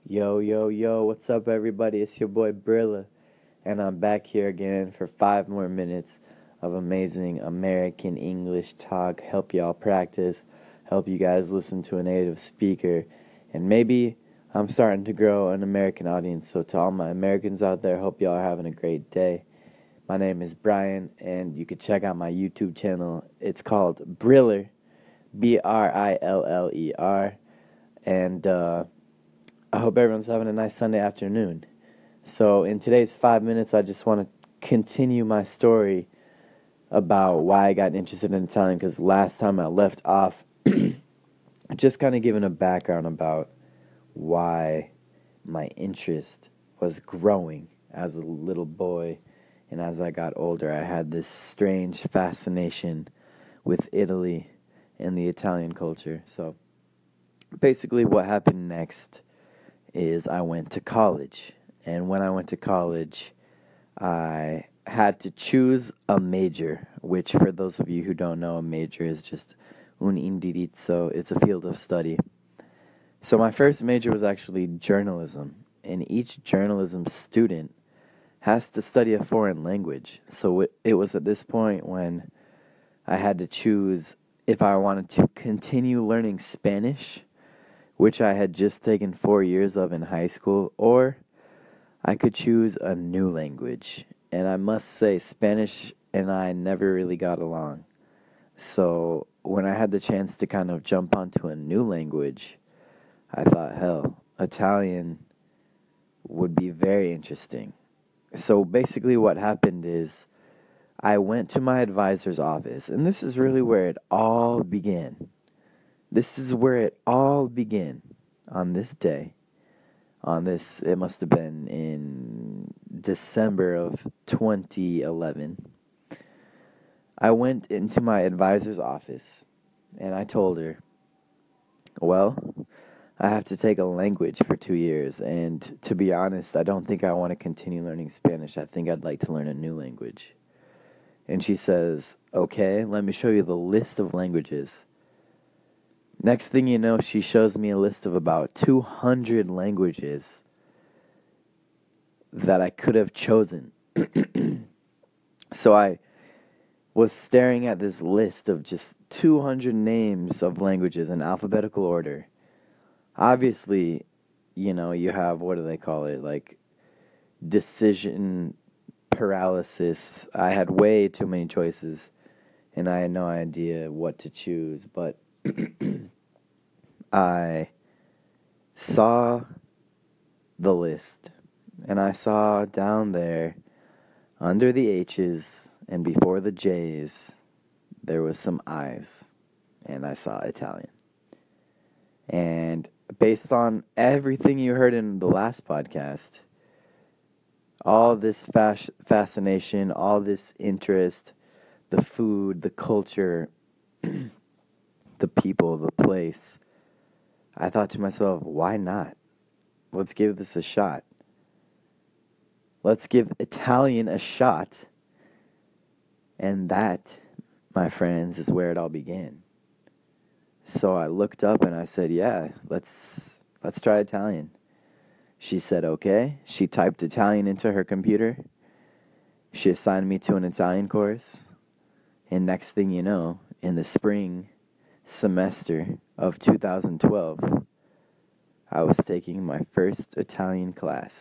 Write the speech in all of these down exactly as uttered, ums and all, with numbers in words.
Yo, yo, yo, what's up, everybody? It's your boy Brilla, and I'm back here again for five more minutes of amazing American English talk. Help y'all practice, help you guys listen to a native speaker, and maybe I'm starting to grow an American audience. So, to all my Americans out there, hope y'all are having a great day. My name is Brian, and you can check out my YouTube channel. It's called Briller, B R I L L E R, and, uh, I hope everyone's having a nice Sunday afternoon. So, in today's five minutes, I just want to continue my story about why I got interested in Italian, because last time I left off just kind of giving a background about why my interest was growing as a little boy, and as I got older, I had this strange fascination with Italy and the Italian culture. So, basically, what happened next is I went to college. And when I went to college, I had to choose a major, which, for those of you who don't know, a major is just un indirizzo. It's a field of study. So my first major was actually journalism, and each journalism student has to study a foreign language. So it, it was at this point when I had to choose if I wanted to continue learning Spanish, which I had just taken four years of in high school, or I could choose a new language. And I must say, Spanish and I never really got along. So when I had the chance to kind of jump onto a new language, I thought, hell, Italian would be very interesting. So basically what happened is I went to my advisor's office, and this is really where it all began. This is where it all began on this day. On this, it must have been in December of twenty eleven. I went into my advisor's office and I told her, well, I have to take a language for two years. And to be honest, I don't think I want to continue learning Spanish. I think I'd like to learn a new language. And she says, okay, let me show you the list of languages. Next thing you know, she shows me a list of about two hundred languages that I could have chosen. So I was staring at this list of just two hundred names of languages in alphabetical order. Obviously, you know, you have, what do they call it, like decision paralysis. I had way too many choices, and I had no idea what to choose, but I saw the list, and I saw down there, under the H's and before the J's, there was some I's, and I saw Italian. And based on everything you heard in the last podcast, all this fas- fascination, all this interest, the food, the culture, the people, the place, I thought to myself, why not? Let's give this a shot. Let's give Italian a shot. And that, my friends, is where it all began. So I looked up and I said, yeah, let's let's try Italian. She said, okay. She typed Italian into her computer. She assigned me to an Italian course. And next thing you know, in the spring semester of two thousand twelve, I was taking my first Italian class.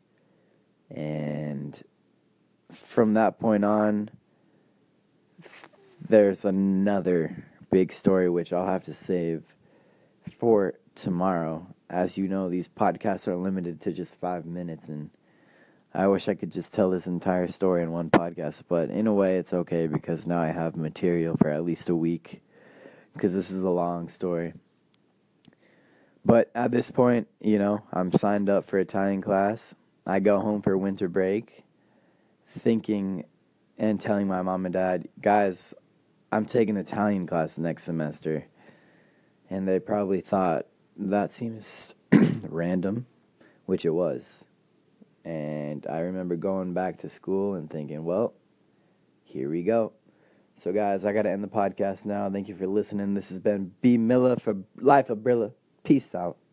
And from that point on, there's another big story which I'll have to save for tomorrow. As you know, these podcasts are limited to just five minutes, and I wish I could just tell this entire story in one podcast, but in a way it's okay because now I have material for at least a week, because this is a long story. But at this point, you know, I'm signed up for Italian class. I go home for winter break thinking and telling my mom and dad, guys, I'm taking Italian class next semester. And they probably thought, that seems random, which it was. And I remember going back to school and thinking, well, here we go. So, guys, I got to end the podcast now. Thank you for listening. This has been B. Miller for Life of Brilla. Peace out.